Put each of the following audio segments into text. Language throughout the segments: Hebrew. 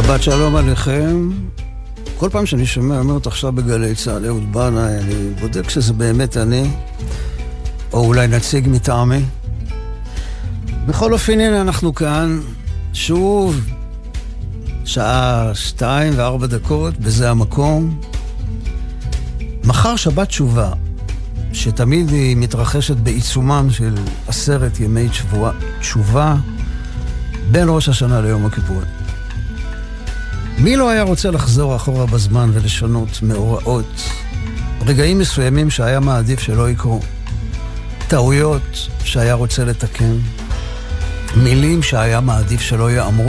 שבת שלום עליכם. כל פעם שאני שומע, אומרת עכשיו בגלי צהל, אהוד בנאי, אני בודק שזה באמת אני, או אולי נציג מטעמי. בכל אופן, הנה אנחנו כאן, שוב, שעה 2:04, בזה המקום. מחר שבת תשובה, שתמיד היא מתרחשת בעיצומם של 10 ימי תשובה, בין ראש השנה ליום הכיפורים. מי לא היה רוצה לחזור אחורה בזמן ולשנות מאורעות, רגעים מסוימים שהיה מעדיף שלא יקרו, טעויות שהיה רוצה לתקן, מילים שהיה מעדיף שלא יאמרו?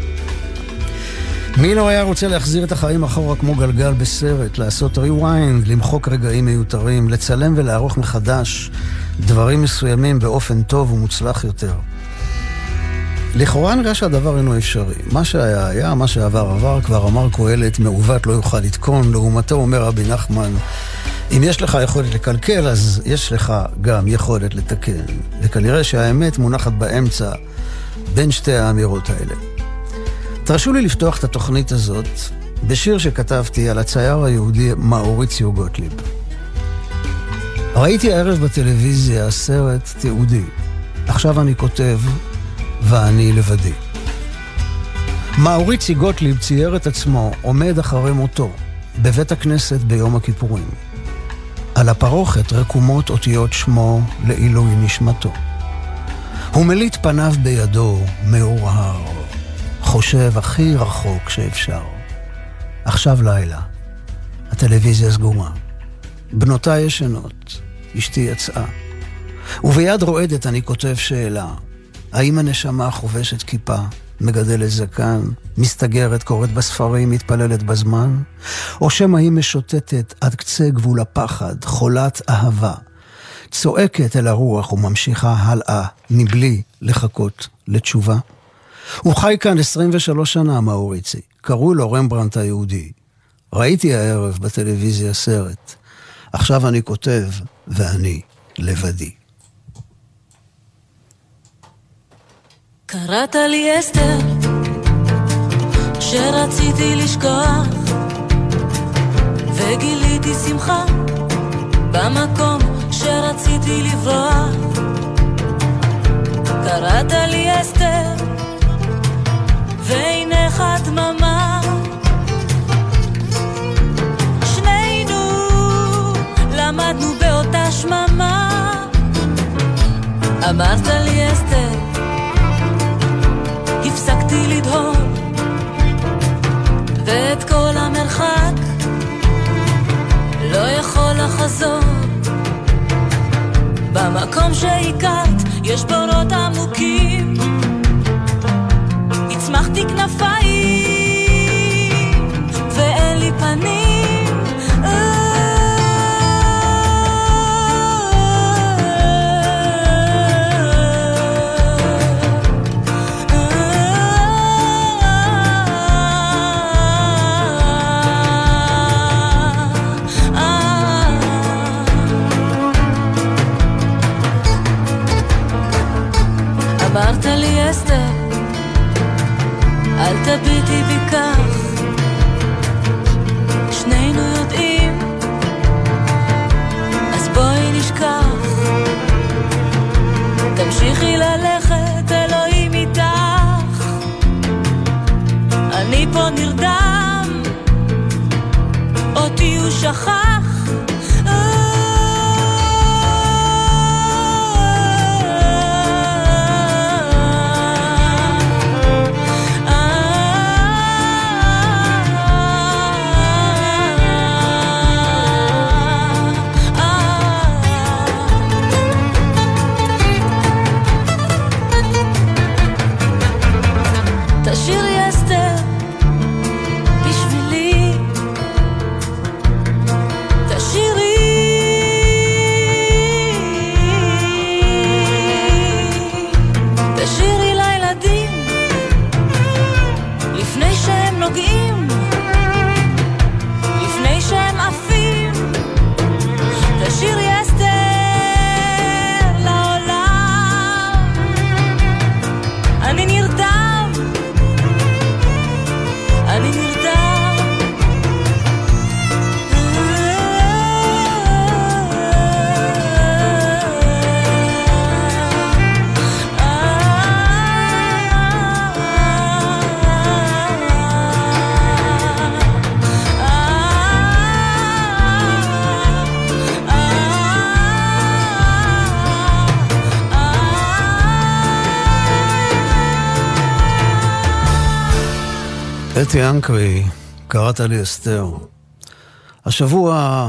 מי לא היה רוצה להחזיר את החיים אחורה כמו גלגל בסרט, לעשות rewind, למחוק רגעים מיותרים, לצלם ולערוך מחדש דברים מסוימים באופן טוב ומוצלח יותר? לכאורה נראה שהדבר אינו אפשרי. מה שהיה היה, מה שעבר עבר, כבר אמר קהלת, מעוות לא יוכל לתקון. לעומתו אומר רבי נחמן, אם יש לך יכולת לקלקל, אז יש לך גם יכולת לתקן. וכנראה שהאמת מונחת באמצע בין שתי האמירות האלה. תרשו לי לפתוח את התוכנית הזאת בשיר שכתבתי על הצייר היהודי מאוריציו גוטליב. ראיתי הערב בטלוויזיה סרט תיעודי. עכשיו אני כותב ואני לבדי. מאוריציו גוטליב צייר את עצמו עומד אחרי מותו בבית הכנסת ביום הכיפורים. על הפרוכת רקומות אותיות שמו לעילוי נשמתו. הוא מליט פניו בידו מאורהר, חושב הכי רחוק שאפשר. עכשיו לילה, הטלוויזיה סגורה, בנותיי ישנות, אשתי יצאה, וביד רועדת אני כותב שאלה: האם הנשמה חובשת כיפה, מגדלת זקן, מסתגרת, קוראת בספרים, מתפללת בזמן? או שמא היא משוטטת עד קצה גבול הפחד, חולת אהבה, צועקת אל הרוח וממשיכה הלאה, מבלי לחכות לתשובה? הוא חי כאן 23 שנה, מאוריצי. קראו לו רמברנט היהודי. ראיתי הערב בטלוויזיה סרט. עכשיו אני כותב ואני לבדי. קראת לי אסתר שרציתי לשכוח, וגיליתי שמחה במקום שרציתי לברוח. קראת לי אסתר ועינך דממה, שנינו למדנו באותה שממה. אמרת לי אסתר, הפסקתי לדהור, ואת כל המרחק לא יכול לחזור. במקום שהכרת יש בורות עמוקים, הצמחתי כנפיים ואין לי פנים. אמרת לי אסתר, אל תביטי בי כך, שנינו יודעים, אז בואי נשכח. תמשיכי ללכת, אלוהים איתך, אני פה נרדם, אותי הוא שכח. אתי אנקרי, קראת לי אסתר. השבוע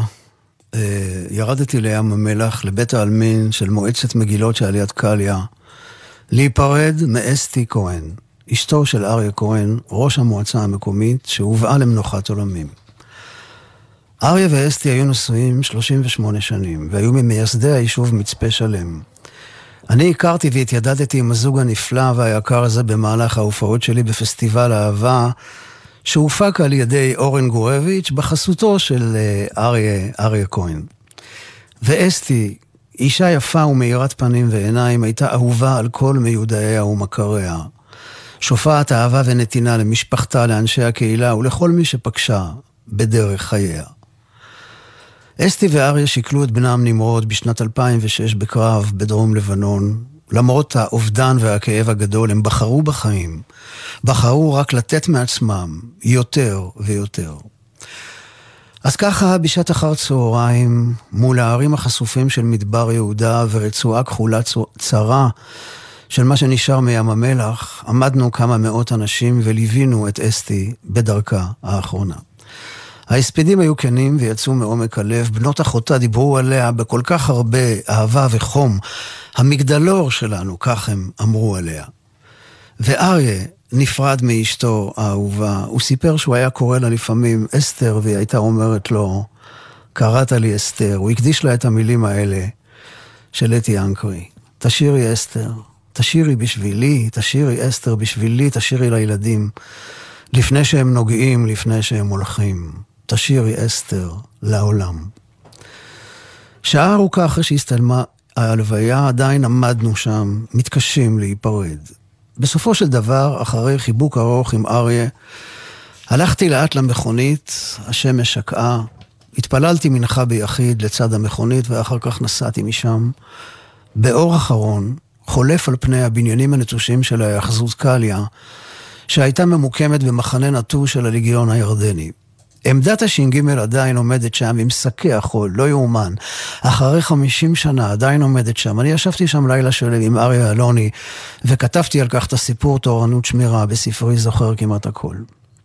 ירדתי לים המלח לבית העלמין של מועצת מגילות שעל יד קליה, להיפרד מאסתי כהן, אשתו של אריה כהן, ראש המועצה המקומית, שהובאה למנוחת עולמים. אריה ואסתי היו נשואים 38 שנים, והיו ממייסדי היישוב מצפה שלם. אני הכרתי והתיידדתי עם הזוג הנפלא והיקר הזה במהלך ההופעות שלי בפסטיבל האהבה, שהופק על ידי אורן גורביץ' בחסותו של אריה כהן. ואסתי, אישה יפה ומאירת פנים ועיניים, הייתה אהובה על כל מיודעיה ומכריה. שופעת אהבה ונתינה למשפחתה, לאנשי הקהילה ולכל מי שפגשה בדרך חייה. אסתי ואריה שיקלו את בנם נמרוד בשנת 2006 בקרב בדרום לבנון. למרות האובדן והכאב הגדול, הם בחרו בחיים. בחרו רק לתת מעצמם יותר ויותר. אז ככה בשעת אחר צהריים, מול הערים החשופים של מדבר יהודה ורצועה כחולה צרה של מה שנשאר מים המלח, עמדנו כמה מאות אנשים וליווינו את אסתי בדרכה האחרונה. ההספדים היו כנים ויצאו מעומק הלב, בנות אחותה דיברו עליה בכל כך הרבה אהבה וחום, המגדלור שלנו, כך הם אמרו עליה. ואריה נפרד מאשתו האהובה, הוא סיפר שהוא היה קורא לה לפעמים אסתר, והיא הייתה אומרת לו, קראת לי אסתר. הוא הקדיש לה את המילים האלה של אתי אנקרי, תשירי אסתר, תשירי בשבילי, תשירי אסתר בשבילי, תשירי לילדים, לפני שהם נוגעים, לפני שהם הולכים, תשירי אסתר לעולם. שעה ארוכה אחרי שהסתלמה ההלוויה, עדיין עמדנו שם, מתקשים להיפרד. בסופו של דבר, אחרי חיבוק ארוך עם אריה, הלכתי לאט למכונית, השמש שקעה, התפללתי מנחה ביחיד לצד המכונית, ואחר כך נסעתי משם. באור אחרון, חולף על פני הבניינים הנטושים של האחזות קליה, שהייתה ממוקמת במחנה נטוש של הליגיון הירדני. עמדת הש"ג עדיין עומדת שם עם שקי החול, לא יאומן. אחרי 50 שנה עדיין עומדת שם. אני ישבתי שם לילה שלם עם אריה אלוני, וכתבתי על כך את הסיפור תורנות שמירה בספרי זוכר כמעט הכל.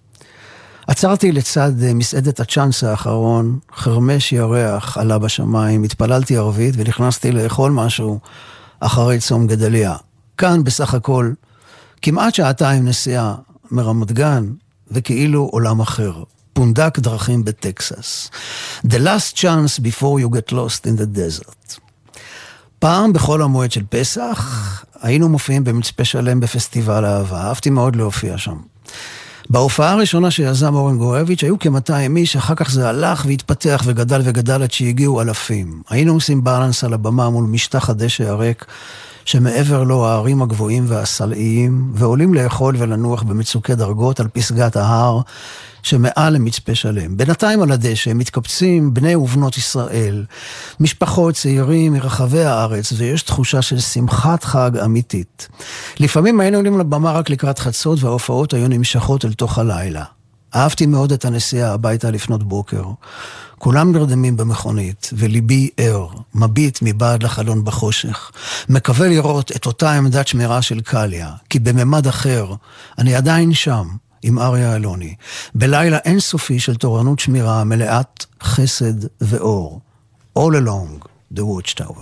עצרתי לצד מסעדת הצ'אנס האחרון, חרמש ירח עלה בשמיים, התפללתי ערבית ונכנסתי לאכול משהו אחרי צום גדליה. כאן בסך הכל, כמעט שעתיים נסיעה מרמת גן, וכאילו עולם אחר. פונדק דרכים בטקסס. The last chance before you get lost in the desert. פעם בכל המועד של פסח, היינו מופיעים במצפה שלם בפסטיבל האהבה. אהבתי מאוד להופיע שם. בהופעה הראשונה שיזם אורן גורביץ' היו כ-200 איש, אחר כך זה הלך והתפתח וגדל וגדל עד שהגיעו אלפים. היינו עושים בלנס על הבמה מול משטח הדשא הריק, שמעבר לו הערים הגבוהים והסלעיים, ועולים לאכול ולנוח במצוקי דרגות על פסגת ההר, שמעל למצפה שלם. בינתיים על הדשא מתקבצים בני ובנות ישראל, משפחות צעירים מרחבי הארץ, ויש תחושה של שמחת חג אמיתית. לפעמים היינו עולים לבמה רק לקראת חצות, וההופעות היו נמשכות אל תוך הלילה. אהבתי מאוד את הנסיעה הביתה לפנות בוקר. כולם נרדמים במכונית, וליבי ער, מביט מבעד לחלון בחושך. מקווה לראות את אותה עמדת שמירה של קליה, כי בממד אחר אני עדיין שם, עם אריה אלוני, בלילה אינסופי של תורנות שמירה מלאת חסד ואור. All along the watchtower.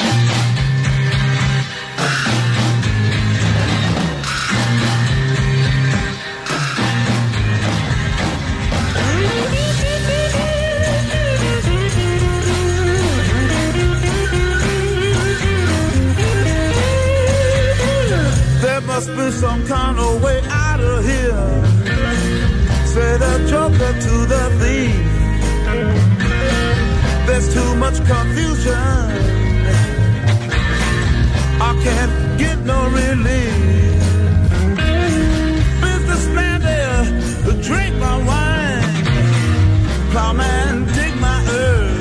Must be some kind of way out of here. Say the joker to the thief. There's too much confusion. I can't get no relief. Businessman there, drink my wine. Plowman, dig my earth.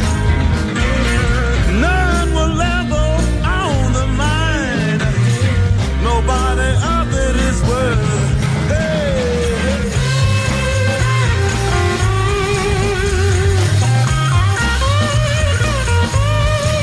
None will level on the mind. Nobody of it is worth. Hey.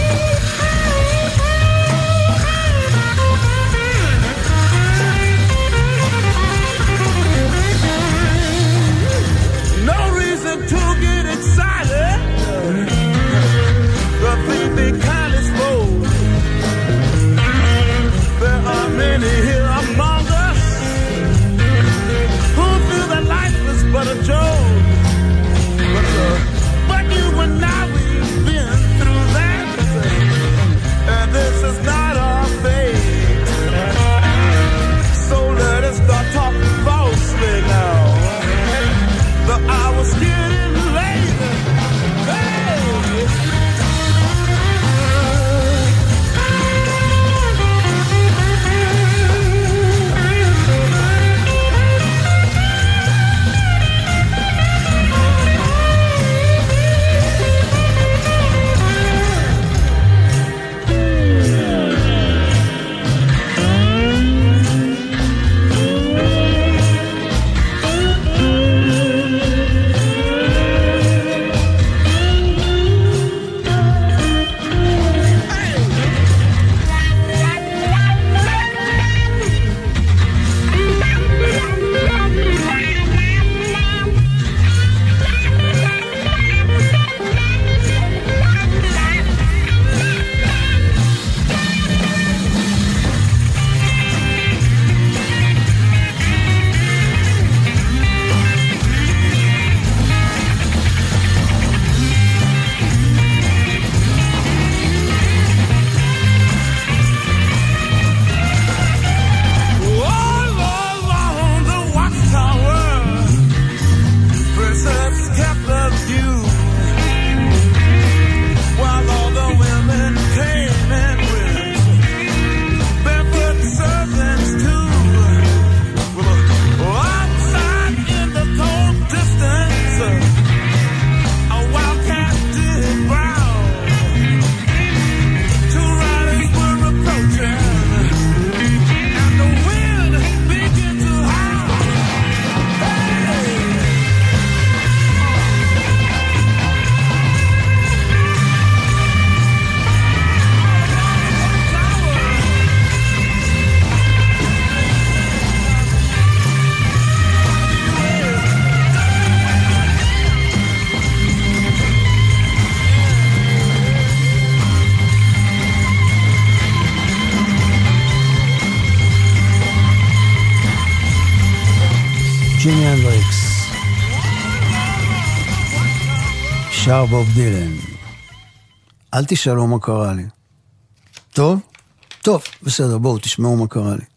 הנדריקס. שר בוב דילן. אל תשאלו מה קרה לי. טוב? טוב, בסדר, בואו תשמעו מה קרה לי.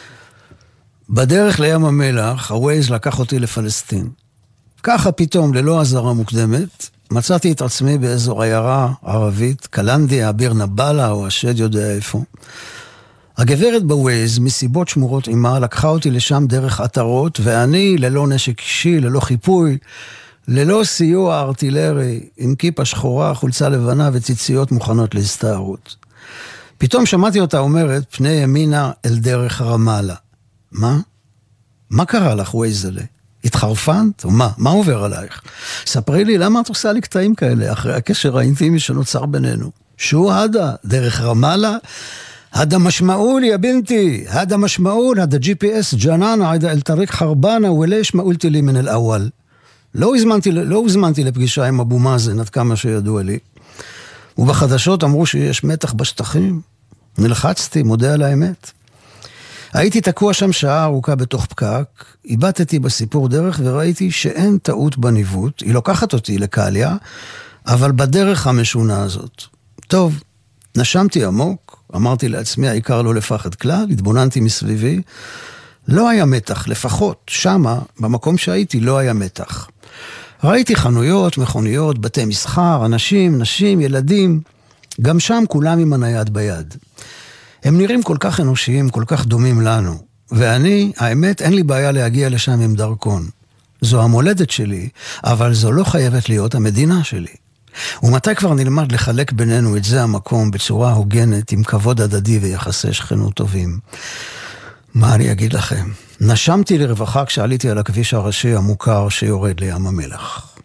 בדרך לים המלח, הווייז לקח אותי לפלסטין. ככה פתאום, ללא עזרה מוקדמת, מצאתי את עצמי באזור עיירה ערבית, קלנדיה, ביר נבלה, או השד יודע איפה. הגברת בווייז, מסיבות שמורות עימה, לקחה אותי לשם דרך עטרות, ואני, ללא נשק אישי, ללא חיפוי, ללא סיוע ארטילרי, עם כיפה שחורה, חולצה לבנה וציציות מוכנות להסתערות. פתאום שמעתי אותה אומרת, פני ימינה אל דרך רמאללה. מה? מה קרה לך, ווייזלה? התחרפנת? או מה? מה עובר עלייך? ספרי לי, למה את עושה לי קטעים כאלה, אחרי הקשר האינטימי שנוצר בינינו? שו הדה? דרך רמאללה? هذا משמעול يا بنتي هذا משמעול هذا GPS جنان عيدا الطريق خربانة وليش ما قلت لي من الأول לא הזמנתי לפגישה עם אבו מאזן עד כמה שידוע לי ובחדשות אמרו שיש מתח בשטחים נלחצתי, מודה על האמת הייתי תקוע שם שעה ארוכה בתוך פקק איבדתי בסיפור דרך וראיתי שאין טעות בניווט היא לוקחת אותי לקליה אבל בדרך המשונה הזאת טוב, נשמתי עמוק אמרתי לעצמי, העיקר לא לפחד כלל, התבוננתי מסביבי, לא היה מתח, לפחות שמה, במקום שהייתי, לא היה מתח. ראיתי חנויות, מכוניות, בתי מסחר, אנשים, נשים, ילדים, גם שם כולם עם הנייד ביד. הם נראים כל כך אנושיים, כל כך דומים לנו, ואני, האמת, אין לי בעיה להגיע לשם עם דרכון. זו המולדת שלי, אבל זו לא חייבת להיות המדינה שלי. ומתי כבר נלמד לחלק בינינו את זה המקום בצורה הוגנת עם כבוד הדדי ויחסי שכנות טובים? מה אני אגיד לכם? נשמתי לרווחה כשעליתי על הכביש הראשי המוכר שיורד לים המלח.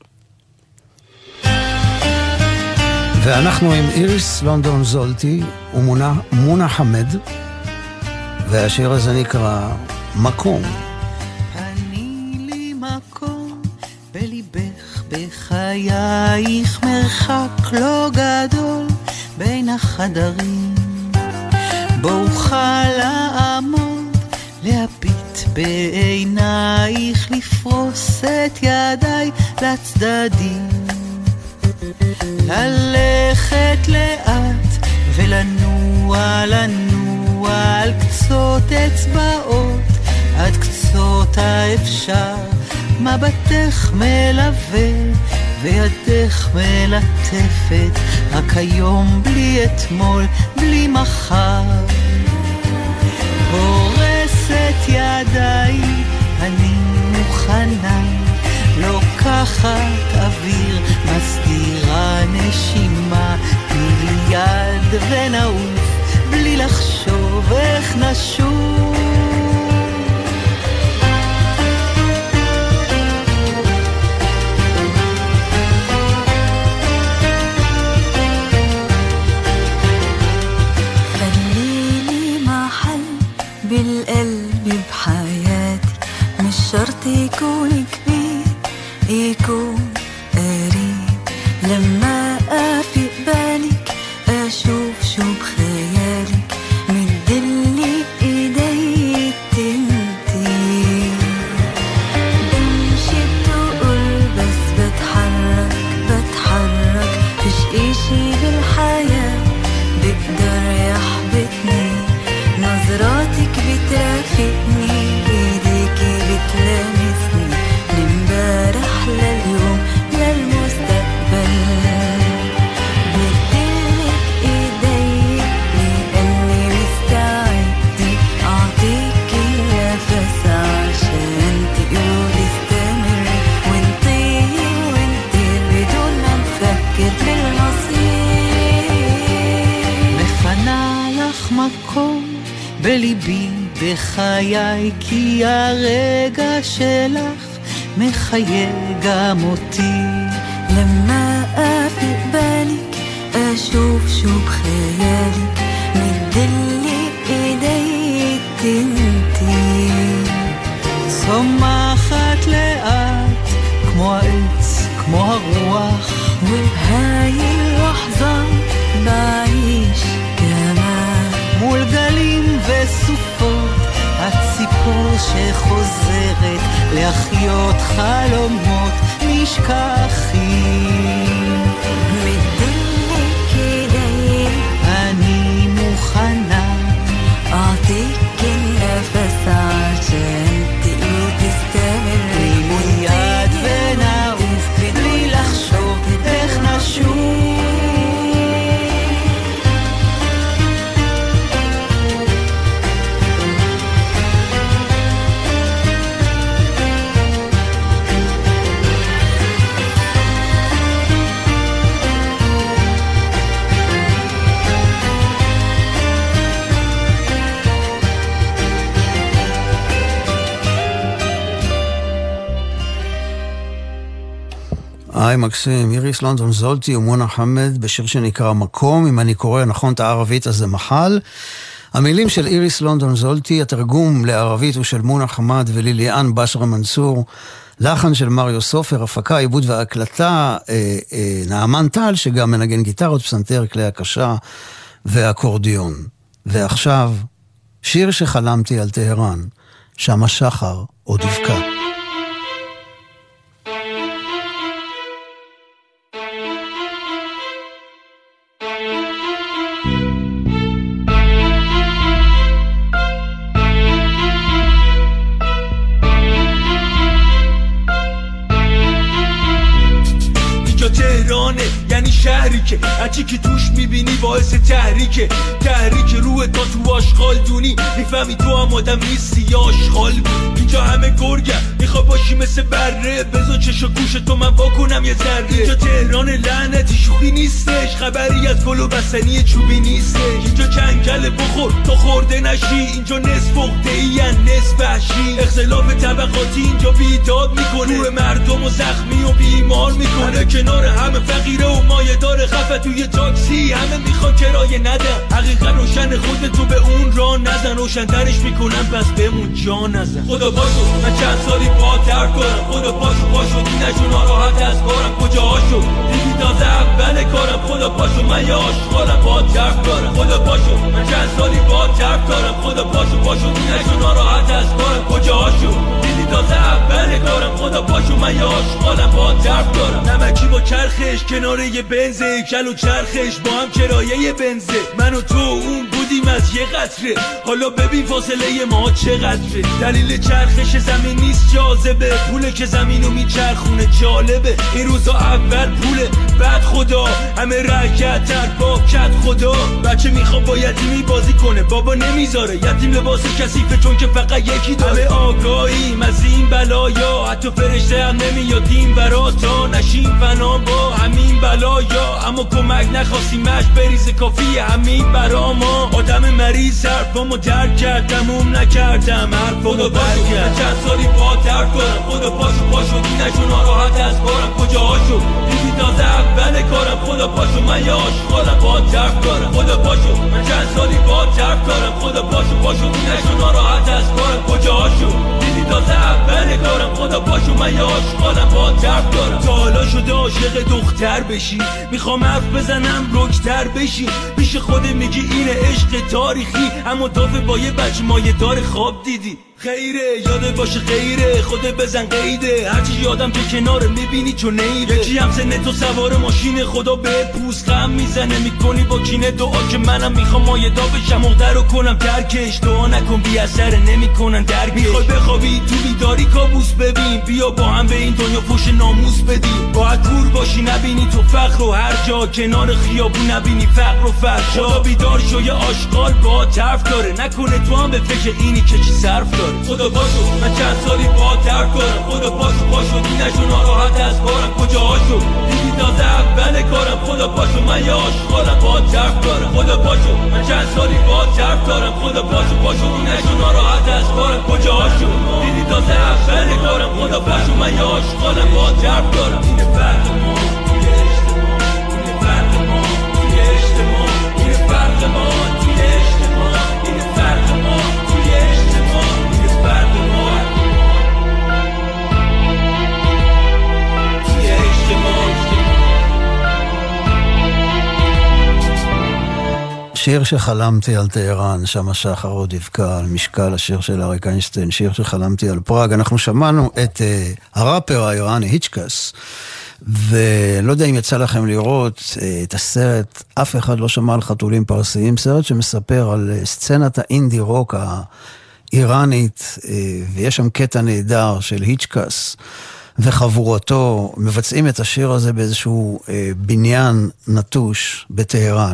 ואנחנו עם איריס לונדון זולטי ומונה חמד, והשיר הזה נקרא מקום. אני לי מקום בליבך בחייך מרחק לא גדול בין החדרים בו אוכל לעמוד להביט בעינייך לפרוס את ידיי לצדדים ללכת לאט ולנוע על קצות אצבעות עד קצות האפשר מבטך מלווה וידך מלטפת רק היום בלי אתמול בלי מחר הורסת ידיי אני מוכנה לוקחת אוויר מסתירה נשימה תני לי יד ונעוף בלי לחשוב איך נשוב بالقلب بحياتي مش شرط يكون كبير يكون قريب لما أفيق بالك أشوف شو بخيالك مدلي إيدي تنتي بمشي بتقول بس بتحرك فيش إشي بالحياة بقدر يحبطني نظراتك بترافقني ايديكي بتلامسني لامبارح لليوم للمستقبل بدلك ايدي لاني مستعدة اعطيكي نفس عشان تقولي استمر ونطير بدون ما نفكر بالمصير مفنايخ מקום בליבי בחיי כי הרגע שלך מחיה גם אותי למה אפיק בליק אשוב שוב חייליק מדלי אידי תנתי צומחת לאט כמו העץ כמו הרוח ובהי לחזה בעיש כמה מול גלים וסופות הציפור שחוזרת להחיות חלומות נשכחים. מדלק ידיים, אני מוכנה, أعطيك النفس عشان تقدر تستمر. מיד ונעוף בלי לחשוב איך נשוב. היי מקסים, איריס לונדון זולטי ומונה חמד בשיר שנקרא מקום. אם אני קורא נכון את הערבית אז זה מחל. המילים של איריס לונדון זולטי, התרגום לערבית הוא של מונה חמד וליליאן בשרה מנסור, לחן של מריו סופר, הפקה, עיבוד והקלטה נעמן טל שגם מנגן גיטרות, פסנתר, כלי הקשה ואקורדיון. ועכשיו שיר שחלמתי על טהרן, שם השחר עוד יבקע. یعنی شهری که هرچی که توش میبینی باعث تحریکه، تحریک روح تا تو آشغال دونی میفهمی تو هم آدم نیستی یا آشغال بود. اینجا همه گرگم میخوا باشی مثل بره، بزا چش و گوش تو من واکنم یه ذره. اینجا تهران لعنتی شوخی نیستش، خبری از گل و بستنی چوبی نیستش. اینجا کنگل بخور تو خورده نشی، اینجا نصف عقده‌ای نصف وحشی. اختلاف طبقاتی اینجا بیداد میکنه، روح مردم و زخمی و بیمار میکنه. کنار همه فقیره و مایه داره خفه توی تاکسی، همه میخوان کرایه ندن. حقیقت روشن خودتو به اون راه نزن، روشن‌ترش میکنن پس بهمون جا نزن. خدا پاشو من چند سالی با ترک کنم، خدا پاشو دینشو ناراحت از کارم کجاهاشو دیدی تازه اول کارم. خدا پاشو من یه آشغالم با ترک دارم، خدا پاشو من چند سالی با ترک دارم. خدا پاشو دینشو ناراحت از کارم کجاهاشو دیدی تازه اول کارم. خدا پاشو من یه آشغالم با ترک دارم. نمکی با چرخش کنار یه بنزه، کل و چرخش با هم کرایه بنزه. من و تو اون بودیم از یه قطره، حالا ببین فاصله ما چقدره. دلیل چرخش زمین نیست جاذبه، پوله که زمینو میچرخونه جالبه. این روزا اول پوله بعد خدا، همه رکت تر با کت خدا. بچه میخواد با یتیمی بازی کنه، بابا نمیذاره. یتیم لباس کثیفه چون که فقط یکی داره. همه آگاهیم از این بلایا، حتی فرشته هم نمیادیم برا تا نشیم فنا با همین بلایا. اما کمک نخواستیمش بریزه کافیه همین برا ما. آدم مریض حرفامو درک کردم نکردم حرفامو برگرد. چند سالی با درک کنم، خدا پاشو دینشو ناراحت از کارم کجاهاشو دیدی تازه اول کارم. خدا پاشو من یه آشغالم با درک دارم، خدا پاشو من چند سالی با درک دارم. خدا پاشو دینشو ناراحت از کارم کجاهاشو دیدی تازه اول کارم. خدا پاشو من یه آشغالم با درک دارم. تا حالا شده عاشق دختر بشی، میخوام حرف بزنم رکتر بشی. پیش خود میگی اینه عشق تاریخی، اما دافه با یه بچه مایه دار خواب دیدی. خیره یاده باشه خیره، خودت بزن قیده. هرچی یادم که کناره میبینی چون نیره. یکی هم سنه تو سوار ماشین، خدا به پوست غم میزنه. میکنی با کینه دعا که منم میخوام مایدا بشم، مقدر رو کنم ترکش. دعا نکن بی اثر نمیکنن درکش. میخوای بخوابی تو بیداری کابوس ببین، بیا با هم به این دنیا پوش ناموس بدی. باید کور باشی نبینی تو فقر و هر جا، کنار خیابون نبینی فقر و فرشا. خدا بیدار شو یه آشغال با طرف داره، نکنه تو هم به فکر اینی که چی صرف داره. خدا پاشو من چند سالی با ترک کنم، خدا پاشو دینشو ناراحت از کارم کجاهاشو دیدی تازه اول کارم. خدا پاشو من یه آشغالم با ترک دارم، خدا پاشو من چند سالی با ترک دارم. خدا پاشو دینشو ناراحت از کارم کجاهاشو دیدی تازه اول کارم. خدا پاشو من یه آشغالم با ترک دارم. اینه فرق ما توی اجتماع، اینه فرق ما توی اجتماع، اینه فرق ما توی اجتماع، اینه فرق ما توی اجتماع. שיר שחלמתי על טהרן, שם השחר עוד יבקע על משקל, השיר של אריק איינשטיין, שיר שחלמתי על פראג. אנחנו שמענו את הראפר האיראני היצ'קס, ולא יודע אם יצא לכם לראות את הסרט, אף אחד לא שמע על חתולים פרסיים, סרט שמספר על סצנת האינדי רוק האיראנית, ויש שם קטע נהדר של היצ'קס וחבורתו, מבצעים את השיר הזה באיזשהו בניין נטוש בטהרן.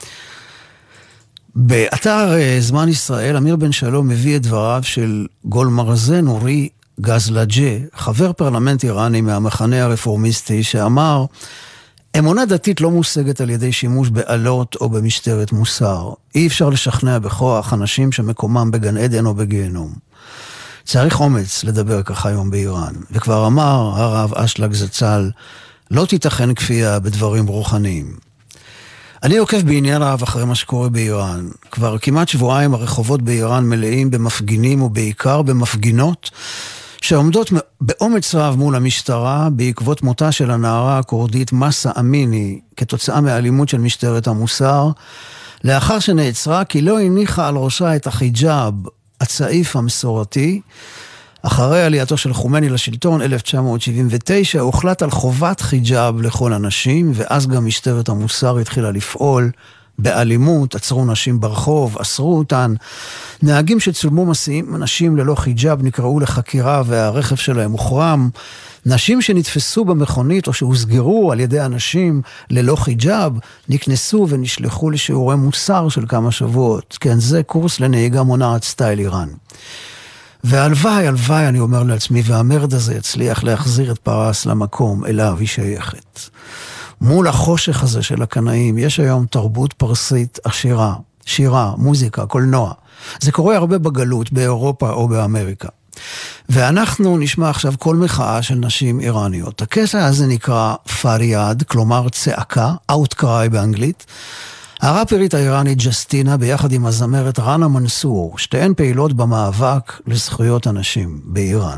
באתר זמן ישראל, אמיר בן שלום מביא את דבריו של גולמרזן אורי גזלג'ה, חבר פרלמנט איראני מהמחנה הרפורמיסטי, שאמר, אמונה דתית לא מושגת על ידי שימוש בעלות או במשטרת מוסר. אי אפשר לשכנע בכוח אנשים שמקומם בגן עדן או בגיהנום. צריך אומץ לדבר ככה היום באיראן. וכבר אמר הרב אשלג זצ"ל, לא תיתכן כפייה בדברים רוחניים. אני עוקב בעניין רב אחרי מה שקורה באיראן. כבר כמעט שבועיים הרחובות באיראן מלאים במפגינים ובעיקר במפגינות שעומדות באומץ רב מול המשטרה בעקבות מותה של הנערה הקורדית מסה אמיני כתוצאה מאלימות של משטרת המוסר, לאחר שנעצרה כי לא הניחה על ראשה את החיג'אב, הצעיף המסורתי. אחרי עלייתו של חומני לשלטון 1979 הוחלט על חובת חיג'אב לכל הנשים, ואז גם משטרת המוסר התחילה לפעול באלימות, עצרו נשים ברחוב, אסרו אותן. נהגים שצולמו מסיעים נשים ללא חיג'אב נקראו לחקירה והרכב שלהם הוחרם. נשים שנתפסו במכונית או שהוסגרו על ידי אנשים ללא חיג'אב נקנסו ונשלחו לשיעורי מוסר של כמה שבועות. כן, זה קורס לנהיגה מונעת סטייל איראן. והלוואי, הלוואי, אני אומר לעצמי, והמרד הזה יצליח להחזיר את פרס למקום אליו היא שייכת. מול החושך הזה של הקנאים, יש היום תרבות פרסית עשירה, שירה, מוזיקה, קולנוע. זה קורה הרבה בגלות, באירופה או באמריקה. ואנחנו נשמע עכשיו כל מחאה של נשים איראניות. הקטע הזה נקרא פריאד, כלומר צעקה, outcry באנגלית. הראפרית האיראנית ג'סטינה ביחד עם הזמרת ראנה מנסור, שתיהן פעילות במאבק לזכויות הנשים באיראן.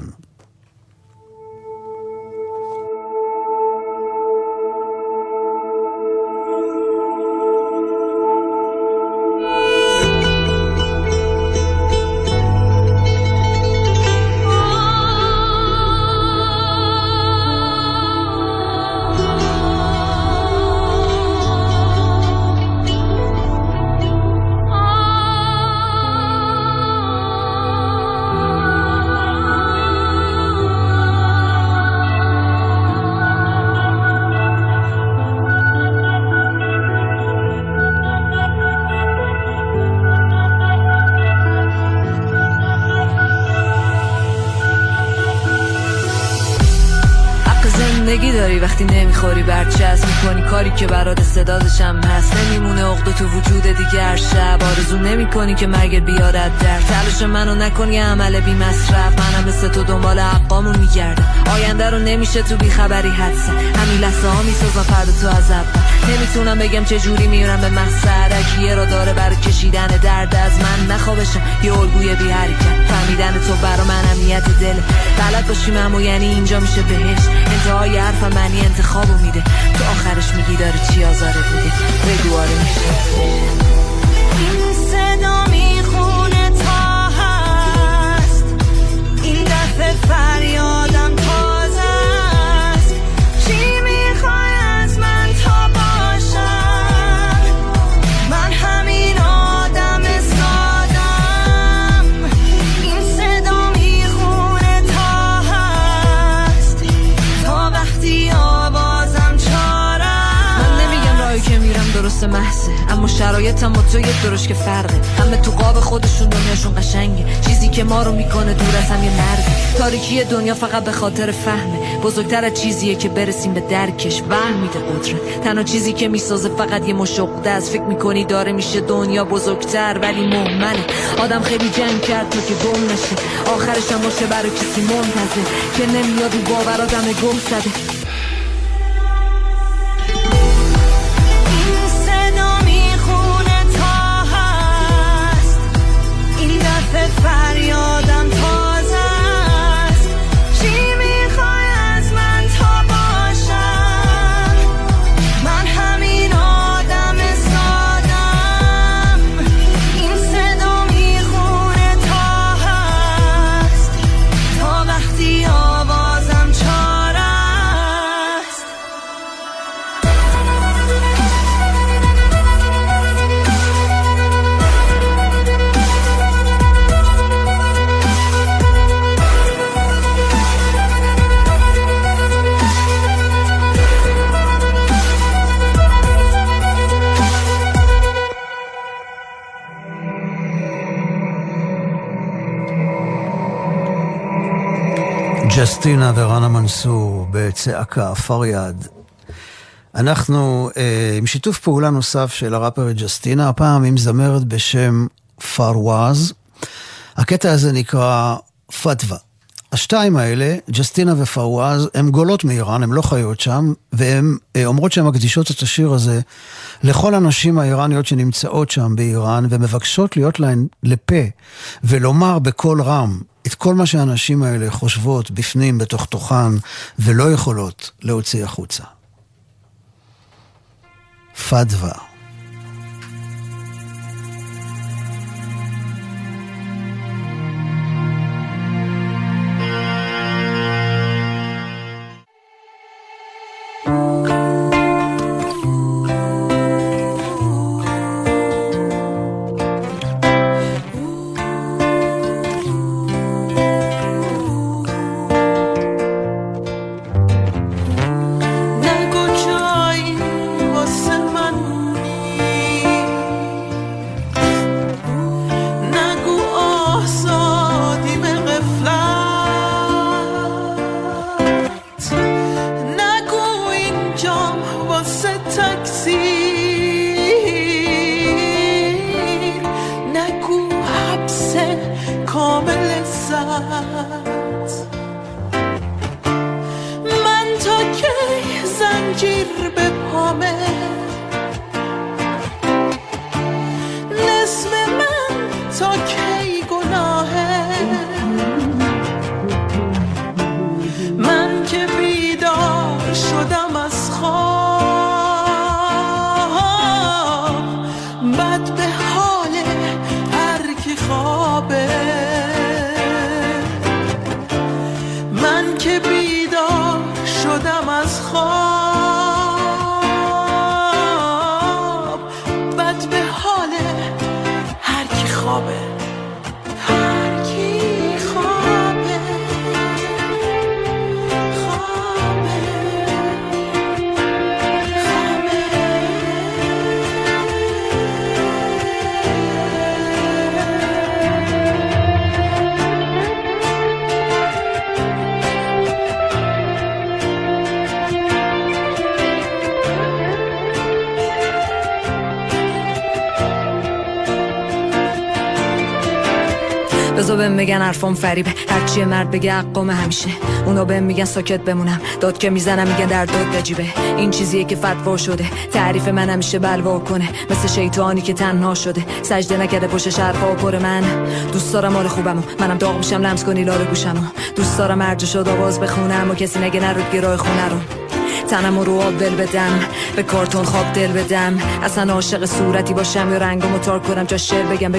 وقتی نمیخوری برچسب میکنی کاری که برات صدازشم هست نمیمونه عقده تو وجود دیگر شب آرزو نمیکنی که مرگ بیارد در تلاش منو نکنی عمل بی مصرف منم مثل تو دنبال حقامون میگردم آینده رو نمیشه تو بی خبری حدسه همین لحظه ها میسازم فردا تو از اول نمیتونم بگم چه جوری میرم به مقصد یه را داره برای کشیدن درد از من نخوابشم یه الگوی بی حرکت فهمیدن تو برا من امنیت دل بلد باشیم اما یعنی اینجا میشه بهش انتهای حرفم معنی انتخابو میده تو آخرش میگی داره چی آزارت میده بگو آره میشه این صدا میخونه تا هست این دفعه فریادم تازه است چی میخوای از من تا باشم من همین آدم سادم این صدا میخونه تا هست تا وقتی آوازم چارم من نمیگم راهی که میرم درست محضه اما شرایطم با تو یک درش که فرقه همه تو قاب خودشون دنیاشون قشنگه چیزی که ما رو میکنه دور از هم یه مرزه تاریکی دنیا فقط به خاطر فهمه بزرگتر از چیزیه که برسیم به درکش وهم میده قدرت تنها چیزی که میسازه فقط یه مشقده است فکر میکنی داره میشه دنیا بزرگتر ولی مهمنه آدم خیلی جنگ کرد تا که گم نشه آخرش هم باشه برای کسی منتظر که نمیاد و باور آدم گم زده فریادم تازه است چی میخوای از من تا باشم من همین آدم سادم ג'סטינה ורנה מנסור בצעקה, פריאד. אנחנו עם שיתוף פעולה נוסף של הראפרית ג'סטינה, הפעם עם זמרת בשם פרווז. הקטע הזה נקרא פתווה. השתיים האלה, ג'סטינה ופרווז, הן גולות מאיראן, הן לא חיות שם, והן אומרות שהן מקדישות את השיר הזה לכל הנשים האיראניות שנמצאות שם באיראן, ומבקשות להיות להן לפה, ולומר בקול רם את כל מה שהנשים האלה חושבות בפנים, בתוך תוכן, ולא יכולות להוציא החוצה. פתווה. بزو بهم میگن حرفم فریبه، هرچی مرد بگه حقم همیشه. اونا بهم میگن ساکت بمونم، داد که میزنم میگن در داد بجیبه. این چیزیه که فتوا شده، تعریف من همیشه بلوا کنه، مثل شیطانی که تنها شده، سجده نکرده پشت حرفا پر من. دوست دارم حال خوبمو، منم داغ میشم لمس کنی لاره گوشمو. دوست دارم هر جا شد آواز بخونم و کسی نگه نرود گرای خونه رو. تنمو رو آب دل بدم، به کارتون خواب دل بدم، اصلا عاشق صورتی باشم یا رنگمو تار کنم جا شعر بگم.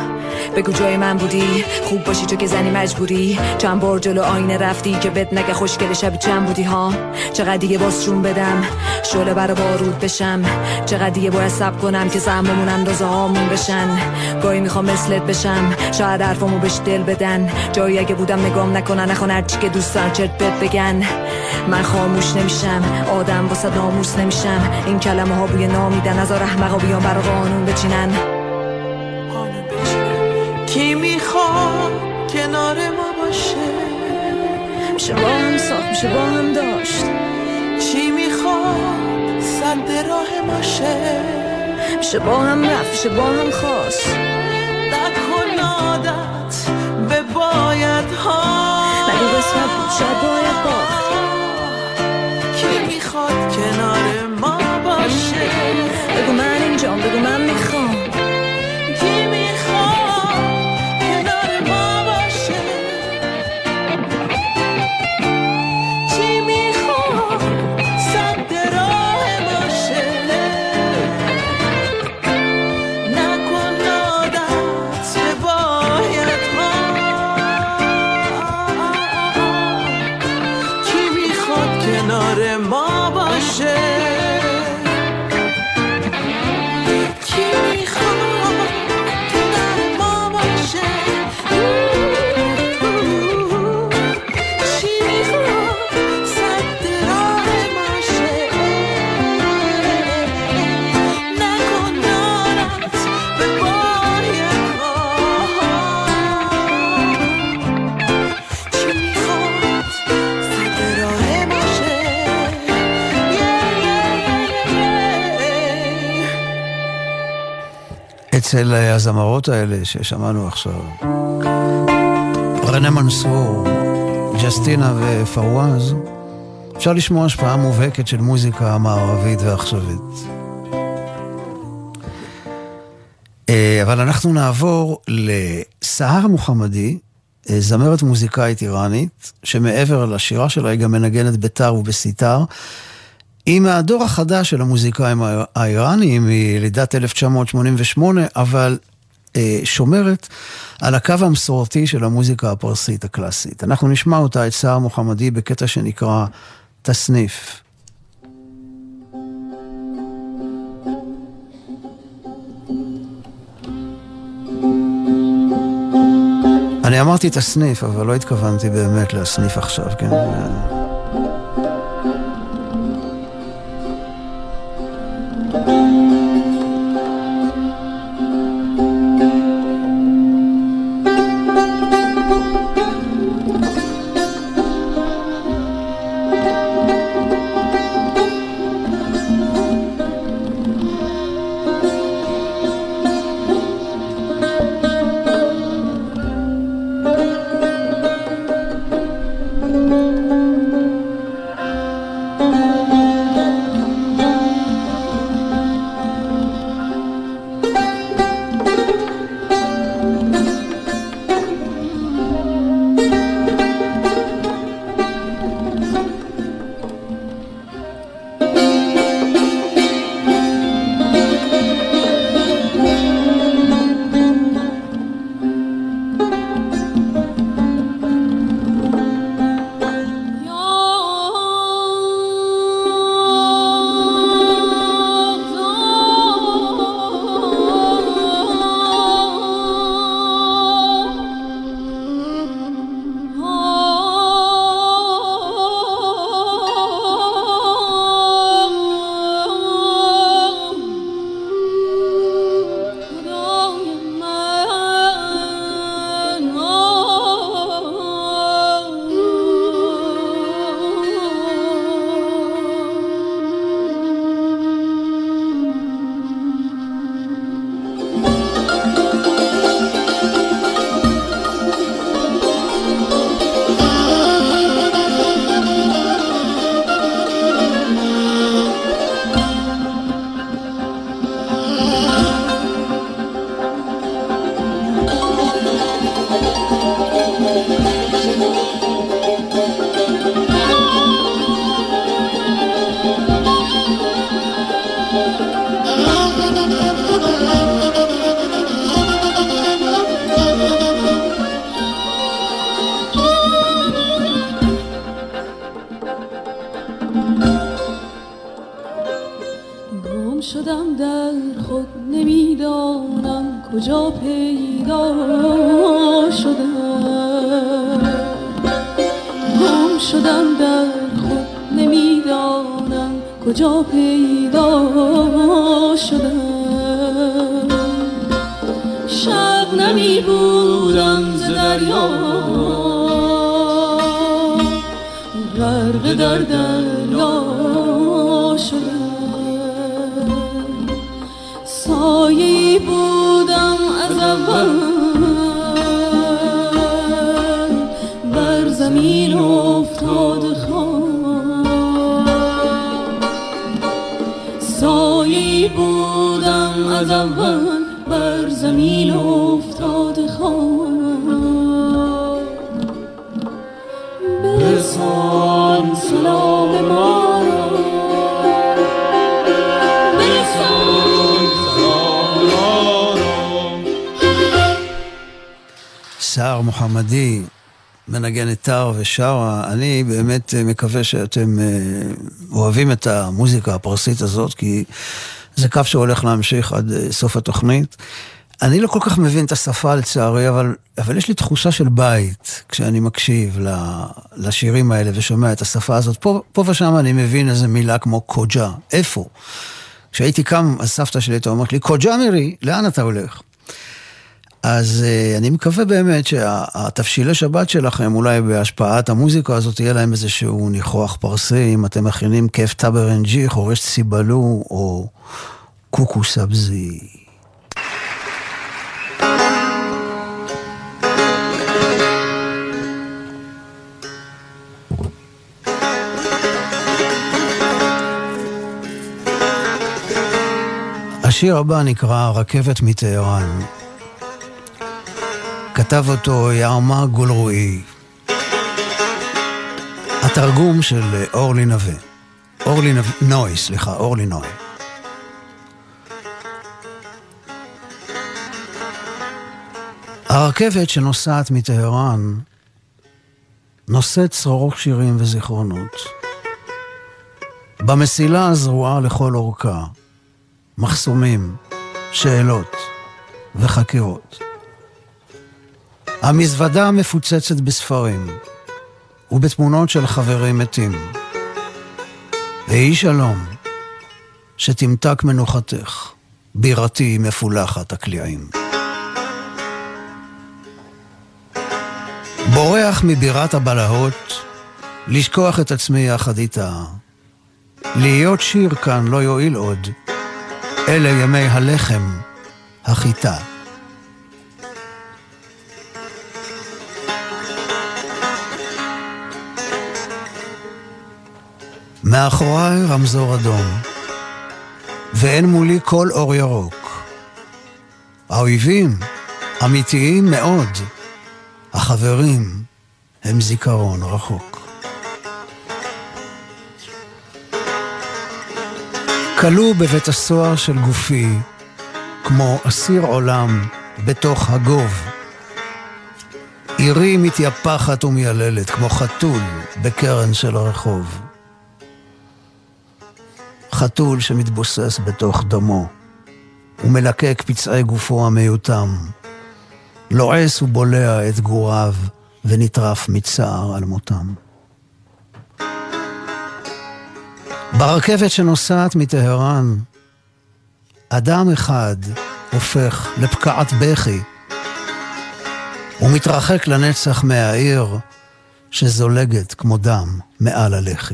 بگو جای من بودی، خوب باشی تو که زنی مجبوری. چند بار جلو آینه رفتی که بد نگه خوشگل شبی چند بودی ها. چقدر دیگه بازشون بدم شعله برا بارود بشم، چقدر دیگه باید صبر کنم که سهممون اندازه هامون بشن. گاهی میخوام مثلت بشم، شاید حرفامو بهش دل بدن، جایی اگه بودم نگام نکنن، نخوان هرچی که دوست دارن چرت بد بگن. من خاموش نمیشم، آدم واسه ناموس نمیشم، این کلمه ها بوی نامیدن، از رحمقا بیان برا قانون بچینن. کی میخواد کنار ما باشه، میشه با هم ساخت، میشه با هم داشت. چی میخواد سد راه ما شه، میشه با هم رفت، میشه با هم خواست. نکن عادت به باید ها، نگو قسمت بود شاید باید باخت. کی میخواد کنار ما باشه، بگو من اینجام، بگو من میخوام. کی אצל הזמרות האלה ששמענו עכשיו. רנה מנסור, ג'סטינה ופרואז, אפשר לשמוע השפעה מובהקת של מוזיקה מערבית ועכשווית. אבל אנחנו נעבור לסהר מוחמדי, זמרת מוזיקאית איראנית, שמעבר לשירה שלה היא גם מנגנת בטר ובסיטר. היא מהדור החדש של המוזיקאים האיראנים, היא לידת 1988, אבל שומרת על הקו המסורתי של המוזיקה הפרסית הקלאסית. אנחנו נשמע אותה, את סהר מוחמדי, בקטע שנקרא תסניף. אני אמרתי תסניף, אבל לא התכוונתי באמת להסניף עכשיו, כן? סהר מוחמדי מנגנת טר ושרה. אני באמת מקווה שאתם אוהבים את המוזיקה הפרסית הזאת, כי זה קו שהולך להמשיך עד סוף התוכנית. אני לא כל כך מבין את השפה לצערי, אבל יש לי תחושה של בית כשאני מקשיב לשירים האלה ושומע את השפה הזאת. פה ושם אני מבין איזה מילה כמו קוג'ה. איפה? כשהייתי קם, הסבתא שלי הייתה אומרת לי, קוג'ה מירי, לאן אתה הולך? אז אני מקווה באמת שהתפשילי שבת שלכם, אולי בהשפעת המוזיקה הזאת, יהיה להם איזשהו ניחוח פרסי, אם אתם מכינים כיף טברנג'י, חורש ציבלו או קוקו סבזי. השיר הבא נקרא רכבת מטהרן. כתב אותו יעמה גולרועי. התרגום של אורלי נוי. הרכבת שנוסעת מטהרן נושאת צרורות שירים וזיכרונות. במסילה הזרועה לכל אורכה, מחסומים, שאלות וחקירות. המזוודה מפוצצת בספרים ובתמונות של חברים מתים. ויהי שלום, שתמתק מנוחתך, בירתי מפולחת הקליעים. בורח מבירת הבלהות, לשכוח את עצמי יחד איתה. להיות שיר כאן לא יועיל עוד, אלה ימי הלחם, החיטה. מאחוריי רמזור אדום, ואין מולי כל אור ירוק. האויבים אמיתיים מאוד, החברים הם זיכרון רחוק. כלוא בבית הסוהר של גופי, כמו אסיר עולם בתוך הגוב. עירי מתייפחת ומייללת, כמו חתול בקרן של הרחוב. חתול שמתבוסס בתוך דמו, ומלקק פצעי גופו המיותם. לועס ובולע את גוריו, ונטרף מצער על מותם. ברכבת שנוסעת מטהרן, אדם אחד הופך לפקעת בכי, ומתרחק לנצח מהעיר שזולגת כמו דם מעל הלחי.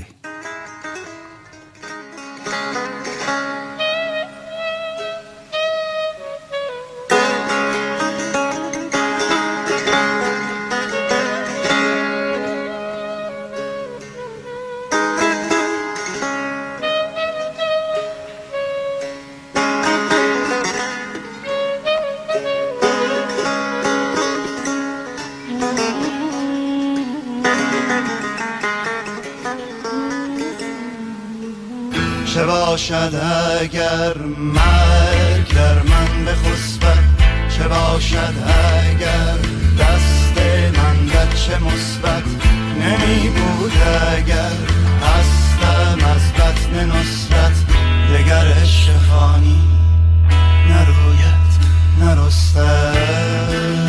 چه باشد اگر مرگ در من بخسبد، چه باشد اگر دست من بچه مثبت نمی بود، اگر هستم از بطن نصرت دگر عشق خانی نروید نرستد.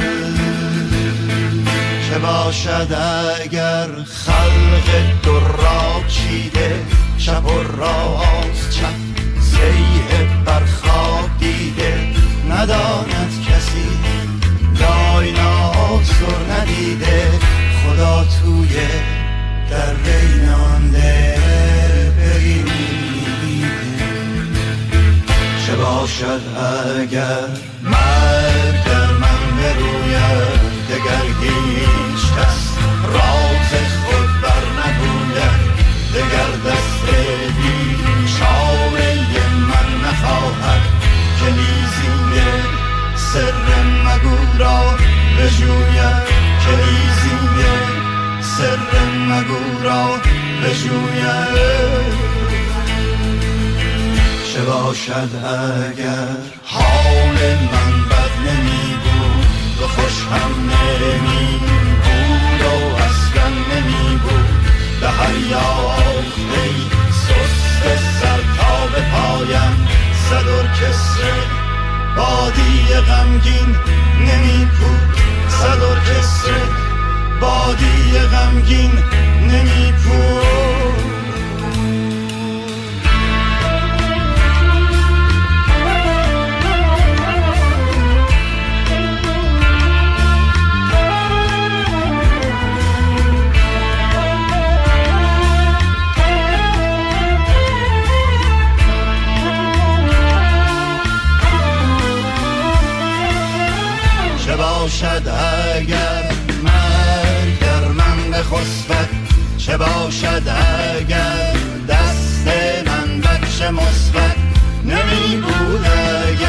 چه باشد اگر خلق دراب چیده، شب و راست چپ سیه بر خواب دیده، نداند کسی داینا سر ندیده، خدا توی در رینانده بگیریده. چه باشد اگر مرگ در من بروید، دگر هیچ کس راز خود بر نگوید، دگر دست بیچاره من نخواهد که لیزینگ سر مگو را بجوید، که لیزینگ سر مگو را بجوید. چه باشد اگر حال من بد نمی بود و خوش هم نمی بود و اصلا نمی بود، به هر یافته سست سر تا به پایم صد ارکستر بادی غمگین نمی بود، صد ارکستر بادی غمگین نمی بود. چه باشد اگر مرگ در من بخسبد، چه باشد اگر دست من بچه مثبت نمی بود،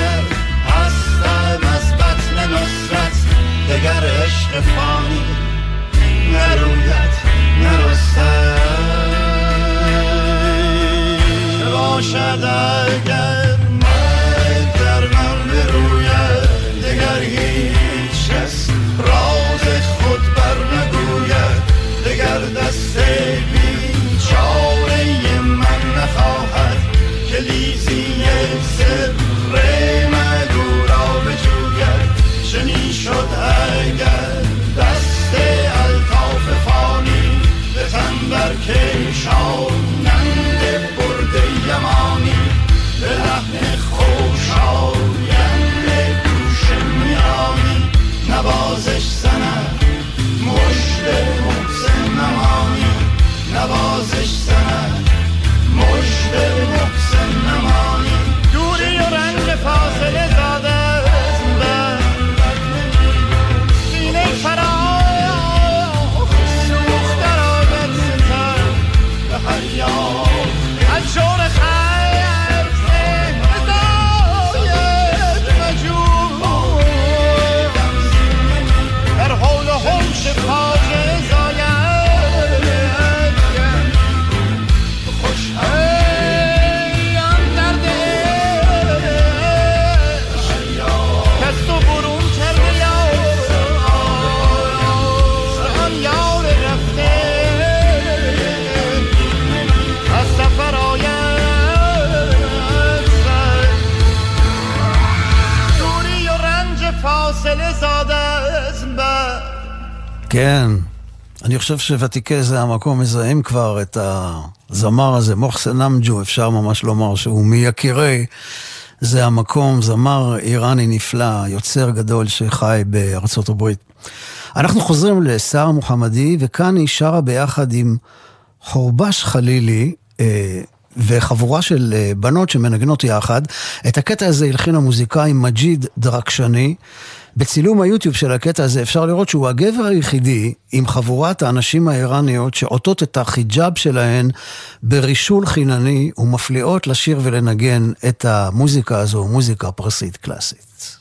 فاصله زاده از من. כן, אני חושב שוותיקי זה המקום מזהים כבר את הזמר הזה, מוחסן נמג'ו, אפשר ממש לומר שהוא מיקירי זה המקום, זמר איראני נפלא, יוצר גדול שחי בארצות הברית. אנחנו חוזרים לסער מוחמדי, וכאן היא שרה ביחד עם חורבש חלילי, וחבורה של בנות שמנגנות יחד. את הקטע הזה הלחין המוזיקאי מג'יד דרקשני. בצילום היוטיוב של הקטע הזה אפשר לראות שהוא הגבר היחידי עם חבורת האנשים האיראניות שעוטות את החיג'אב שלהן ברישול חינני ומפליאות לשיר ולנגן את המוזיקה הזו, מוזיקה פרסית קלאסית.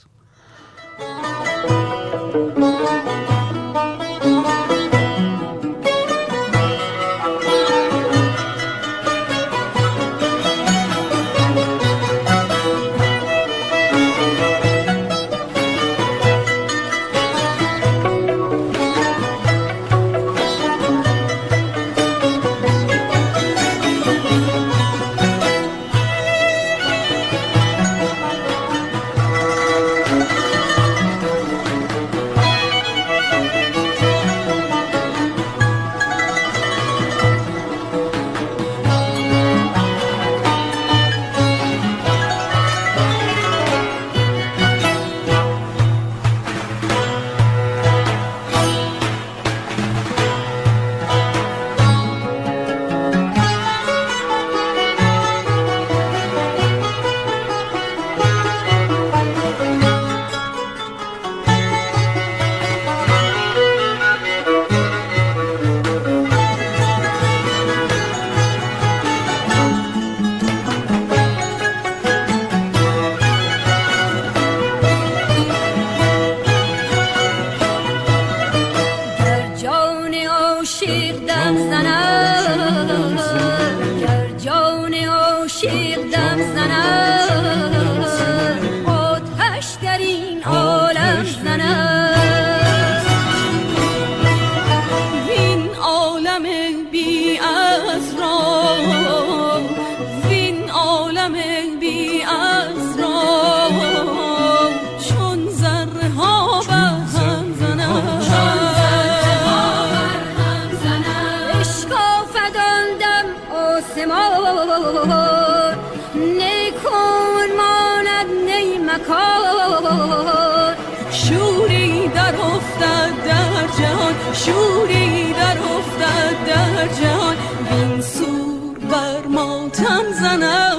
شوری در افتد در جهان این سور بر ماتم زند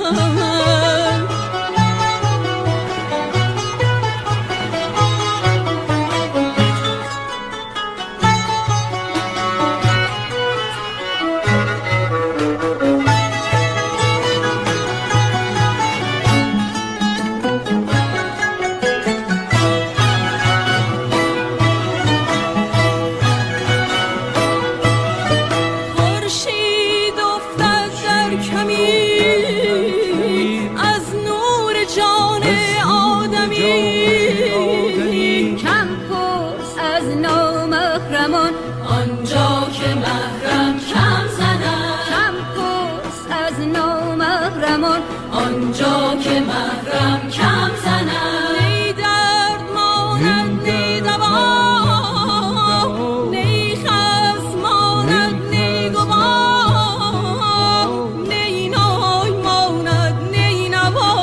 آنجا که محرم کم زند نی درد ماند نی دوا نی خصم ماند نی گوا نی نای ماند نی نوا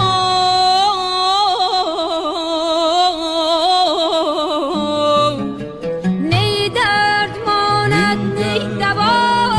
نی درد ماند نی دوا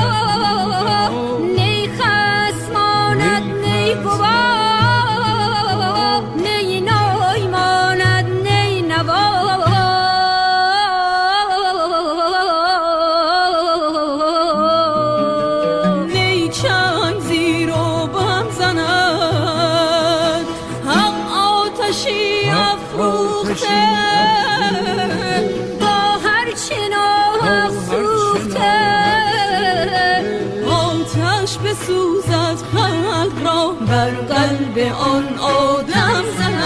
بر قلب آن آدم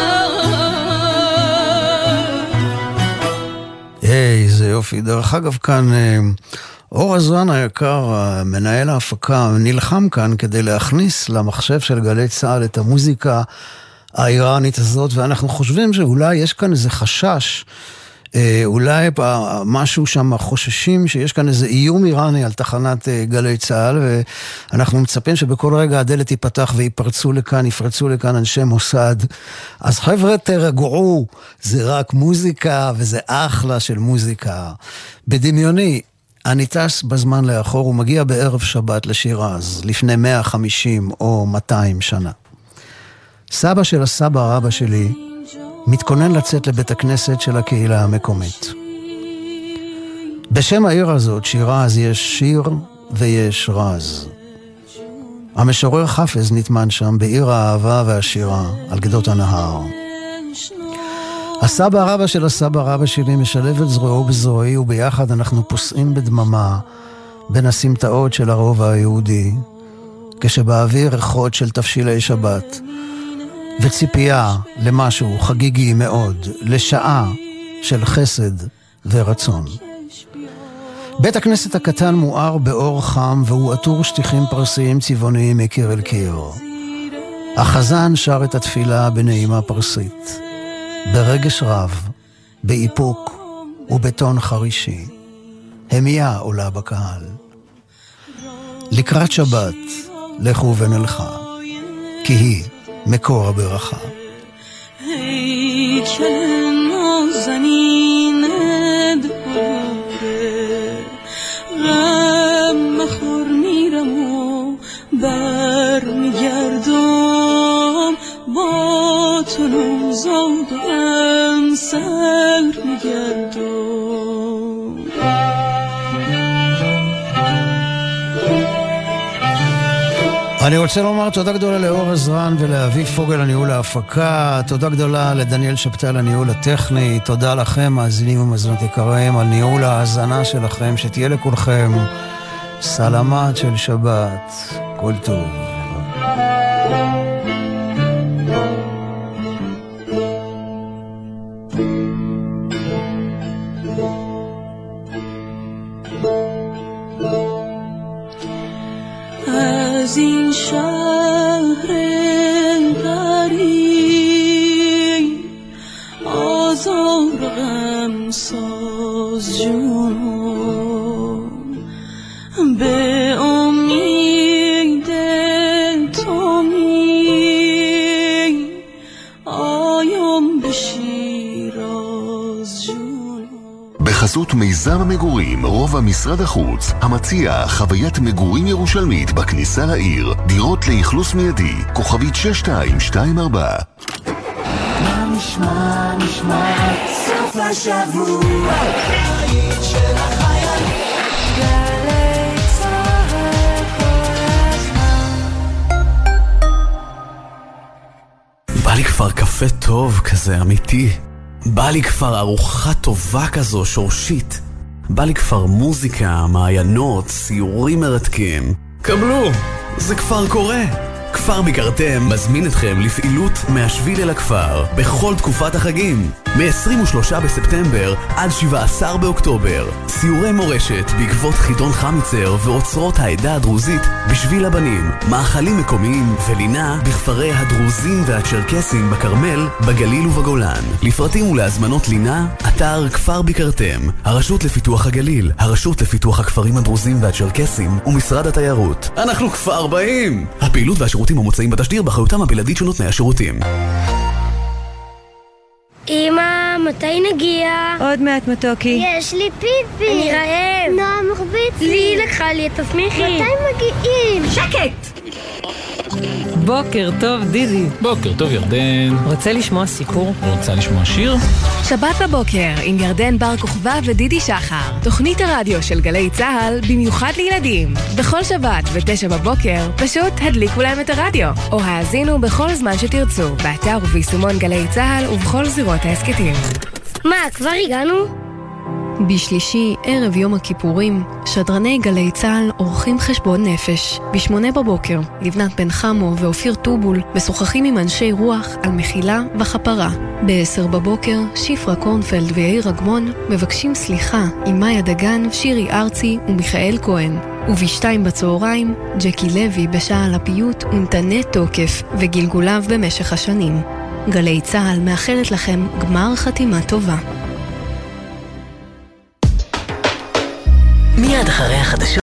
زند. איזה יופי. דרך אגב כאן אור עזרן היקר, מנהל ההפקה, נלחם כאן כדי להכניס למחשב של גלי צהל את המוזיקה האיראנית הזאת, ואנחנו חושבים שאולי יש כאן איזה חשש, אולי משהו שם חוששים שיש כאן איזה איום איראני על תחנת גלי צהל, ואנחנו מצפים שבכל רגע הדלת ייפתח ויפרצו לכאן אנשי מוסד. אז חבר'ה תרגעו, זה רק מוזיקה וזה אחלה של מוזיקה. בדמיוני, אני טס בזמן לאחור ומגיע בערב שבת לשירז, לפני 150 או 200 שנה. סבא של הסבא רבא שלי מתכונן לצאת לבית הכנסת של הקהילה המקומית. בשם העיר הזאת, שירז, יש שיר ויש רז. המשורר חפז נטמן שם בעיר האהבה והשירה על גדות הנהר. הסבא רבא של הסבא רבא שלי משלב את זרועו בזרועי, וביחד אנחנו פוסעים בדממה בין הסמטאות של הרובע היהודי, כשבאוויר ריחות של תפשילי שבת וציפייה למשהו חגיגי מאוד, לשעה של חסד ורצון. בית הכנסת הקטן מואר באור חם, והוא עטור שטיחים פרסיים צבעוניים מקיר אל קיר. החזן שר את התפילה בנעימה פרסית, ברגש רב, באיפוק ובטון חרישי. המיה עולה בקהל. לקראת שבת, לכו ונלכה, כי היא מקור הברכה. אני רוצה לומר תודה גדולה לאור עזרן ולאביב פוגל הניהול ההפקה, תודה גדולה לדניאל שבתל הניהול הטכני, תודה לכם מאזינים ומאזינות יקרים על ניהול ההאזנה שלכם, שתהיה לכולכם סלמת של שבת, כל טוב. از این شهر غریب آزار غم ساز جونم به امید تو می آیم به شیراز جونم. בחסות מיזם המגורים רובע משרד החוץ, המציע חוויית מגורים ירושלמית בכניסה לעיר, דירות לאכלוס מיידי, כוכבית 6224. מה נשמע סוף השבוע העיר של החייל גלי צהל כל הזמן. בא לי כבר קפה טוב כזה אמיתי, בא לי כבר ארוחה טובה כזו שורשית, בא לי כבר מוזיקה, מעיינות, סיורים מרתקים. קבלו, זה כבר קורה. כפר ביקרתם מזמין אתכם לפעילות מהשביל אל הכפר בכל תקופת החגים, מ-23 בספטמבר עד 17 באוקטובר. סיורי מורשת בעקבות חידון חמיצר ואוצרות העדה הדרוזית בשביל הבנים, מאכלים מקומיים ולינה בכפרי הדרוזים והצ'רקסים בכרמל, בגליל ובגולן. לפרטים ולהזמנות לינה, אתר כפר ביקרתם, הרשות לפיתוח הגליל, הרשות לפיתוח הכפרים הדרוזים והצ'רקסים ומשרד התיירות. אנחנו כפר באים. הפעילות והשירותים המוצאים בתשדיר באחריותם הבלעדית של נותני השירותים. אמא, מתי נגיע? עוד מעט מתוקי. יש לי פיפי. אני רעב. נועה מחביץ לי. לקחה לי את תסמיכי. מתי מגיעים? שקט! בוקר טוב דידי. בוקר טוב ירדן. רוצה לשמוע סיפור? רוצה לשמוע שיר? שבת בבוקר עם ירדן בר כוכבא ודידי שחר, תוכנית הרדיו של גלי צהל במיוחד לילדים. בכל שבת ב9 בבוקר פשוט הדליקו להם את הרדיו או האזינו בכל זמן שתרצו באתר וביישומון גלי צהל ובכל זירות ההסקטים. מה, כבר הגענו? בשלישי, ערב יום הכיפורים, שדרני גלי צהל עורכים חשבון נפש. ב8 בבוקר, לבנת בן חמו ואופיר טובול משוחחים עם אנשי רוח על מחילה וחפרה. ב10 בבוקר, שפרה קורנפלד ויאיר אגמון מבקשים סליחה עם מאיה דגן, שירי ארצי ומיכאל כהן. וב2 בצהריים, ג'קי לוי בשעה על הפיוט ונתנה תוקף וגלגוליו במשך השנים. גלי צהל מאחלת לכם גמר חתימה טובה. מיד אחרי החדשות